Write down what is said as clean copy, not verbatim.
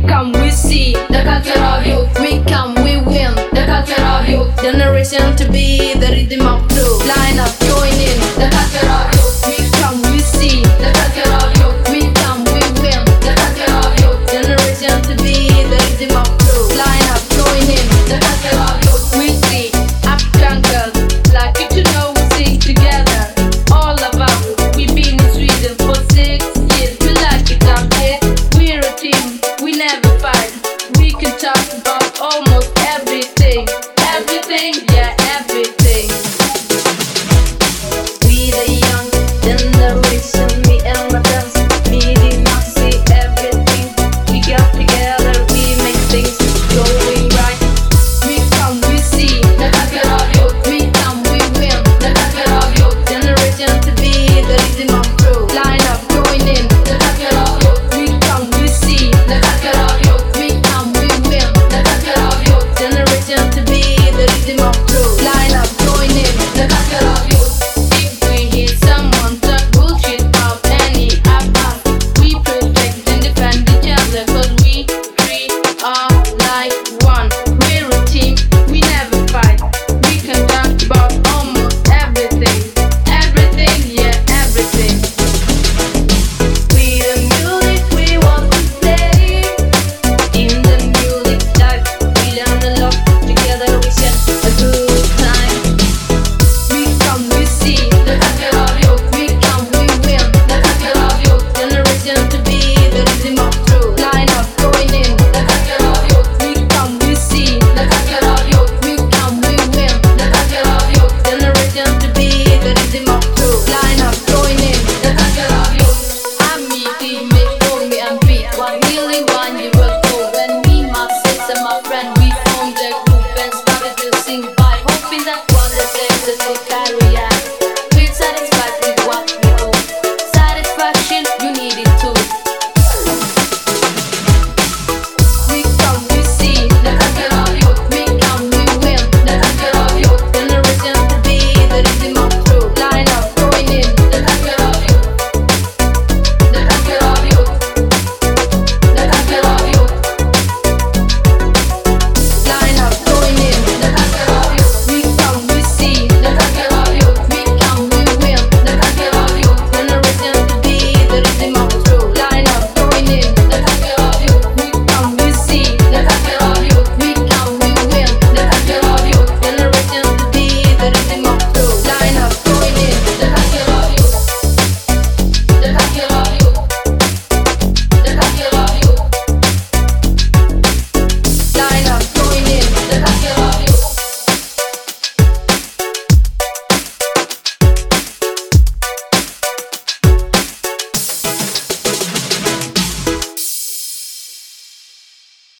come, we see the culture of youth. we come, we win. The culture of youth. Generation to be the rhythm of truth. Line up, join in. The culture of youth. We come, we see The culture of youth. we come, we win. The culture of youth. Generation to be the rhythm of truth. Line up, join in. The culture of youth. We see African girls like you to know we sing together. All about we've been in Sweden for 6 years. We like it out there. We're a team. We never fight. We can talk about almost everything. Everything, yeah, everything. We the young generation, me and my friends, meeting up, see everything. We got together, we make things going right. We come, we see The culture of youth. we come, we win. The culture of youth. Generation to be the rhythm of truth. Line up, join in. The culture of youth. We come, we see The culture of youth. we come, we win. The culture of youth. Generation to be the rhythm of truth. Line up, join in. The culture of youth. If we hear someone talk bullshit of any of us, we protect and defend each other, 'cause we three are like one. We're a team, we never fight. We can talk about almost everything. Everything, yeah, everything. We the music we want to play. In the music life, we learn a lot. Together we share a good time. We come, we see The culture of youth. we come, we win. The culture of youth. Generation to be the rhythm of truth. Line up, join in. The culture of youth. We come, we see The culture of youth. we come, we win. The culture of youth. Generation to be the rhythm of truth. Line up, join in. The culture of youth. I'm me, team, make for me and beat. 1 million, 1 euro.